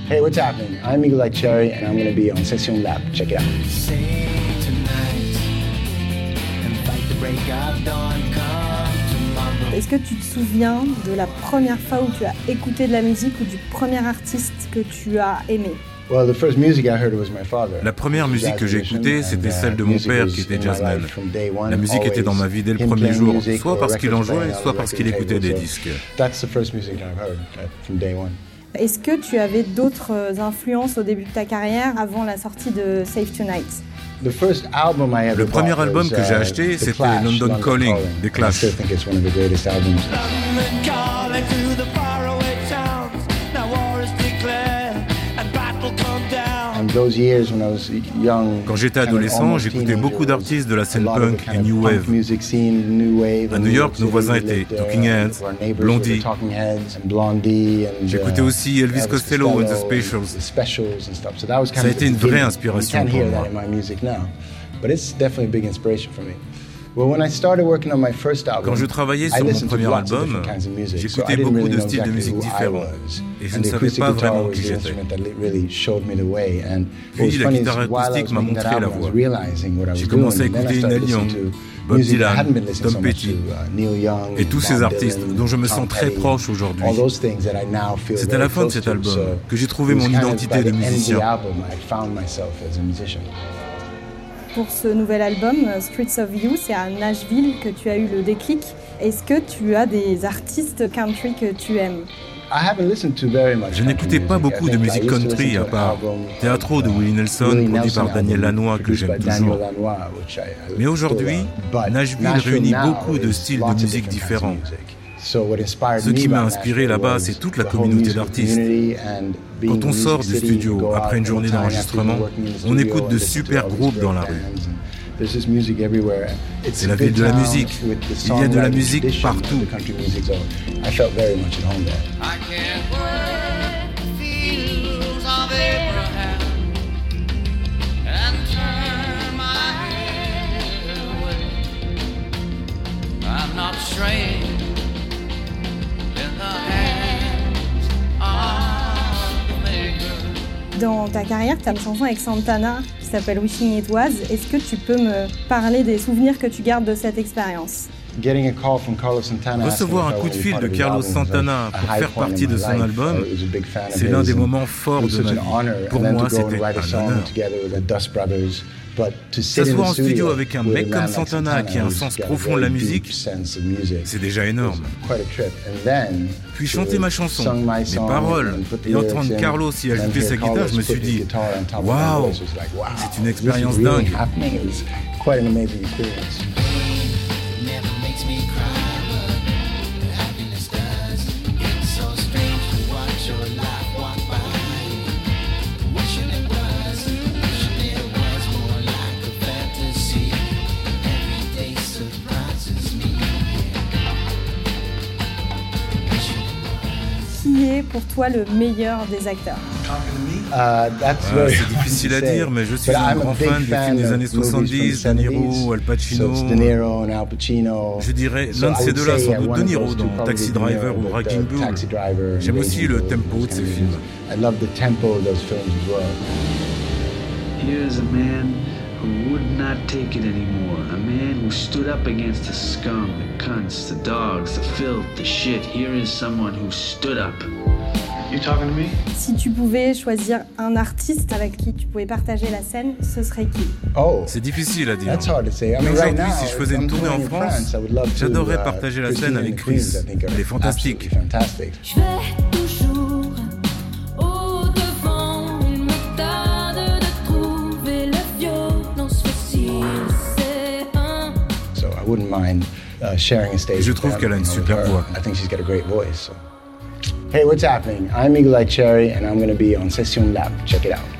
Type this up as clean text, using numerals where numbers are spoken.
Hey, what's happening? I'm Eagle Eye Cherry and I'm going to be on Session Lab. Check it out. Est-ce que tu te souviens de la première fois où tu as écouté de la musique ou du premier artiste que tu as aimé? La première musique que j'ai écoutée, c'était celle de mon père qui était jazzman. La musique était dans ma vie dès le premier jour, soit parce qu'il en jouait, soit parce qu'il écoutait des disques. Est-ce que tu avais d'autres influences au début de ta carrière avant la sortie de Save Tonight? Le premier album que j'ai acheté, c'était London Calling des Clash. Quand j'étais adolescent, j'écoutais beaucoup d'artistes de la scène punk et New Wave. À New York, nos voisins étaient Talking Heads, Blondie. J'écoutais aussi Elvis Costello and the Specials. Ça a été une vraie inspiration pour moi. Quand je travaillais sur mon premier album, j'écoutais beaucoup de styles de musique différents et je ne savais pas vraiment qui j'étais. Puis la guitare acoustique m'a montré la voie. J'ai commencé à écouter Neil Young, Bob Dylan, Tom Petty et tous ces artistes dont je me sens très proche aujourd'hui. C'est à la fin de cet album que j'ai trouvé mon identité de musicien. Pour ce nouvel album, Streets of You, c'est à Nashville que tu as eu le déclic. Est-ce que tu as des artistes country que tu aimes? Je n'écoutais pas beaucoup de musique country à part Teatro de Willie Nelson, produit par Daniel Lanois, que j'aime toujours. Mais aujourd'hui, Nashville réunit beaucoup de styles de musique différents. Ce qui m'a inspiré là-bas, c'est toute la communauté d'artistes. Quand on sort du studio après une journée d'enregistrement, on écoute de super groupes dans la rue. C'est la ville de la musique. Il y a de la musique partout. Dans ta carrière, tu as une chanson avec Santana qui s'appelle Wishing It Was. Est-ce que tu peux me parler des souvenirs que tu gardes de cette expérience? Recevoir un coup de fil de Carlos Santana pour faire partie de son album, c'est l'un des moments forts de ma vie. Pour moi, c'était un honneur. S'asseoir en studio avec un mec comme Santana qui a un sens profond de la musique, c'est déjà énorme. Puis chanter ma chanson, mes paroles, et entendre Carlos y ajouter sa guitare, je me suis dit « Waouh, c'est une expérience dingue !» Qui est pour toi le meilleur des acteurs? C'est difficile à dire, mais je suis un grand fan des films des années 70, De Niro, Al Pacino. Je dirais l'un de ces deux-là, sans doute De Niro dans Taxi Driver ou Raging Bull. J'aime aussi le tempo de ces films. Here's a man who would not take it anymore. A man who stood up against the scum, the cunts, the dogs, the filth, the shit. Here is someone who stood up. You talking to me? Si tu pouvais choisir un artiste avec qui tu pouvais partager la scène, ce serait qui? C'est difficile à dire. Mais aujourd'hui, si je faisais une tournée en France, j'adorerais partager la scène avec Chris. Il est fantastique. Je vais toujours au-devant, une méthode de trouver la violence facile, c'est un... Je trouve qu'elle a une super voix. Hey, what's happening? I'm Eagle Eye Cherry and I'm going to be on Session Lab. Check it out.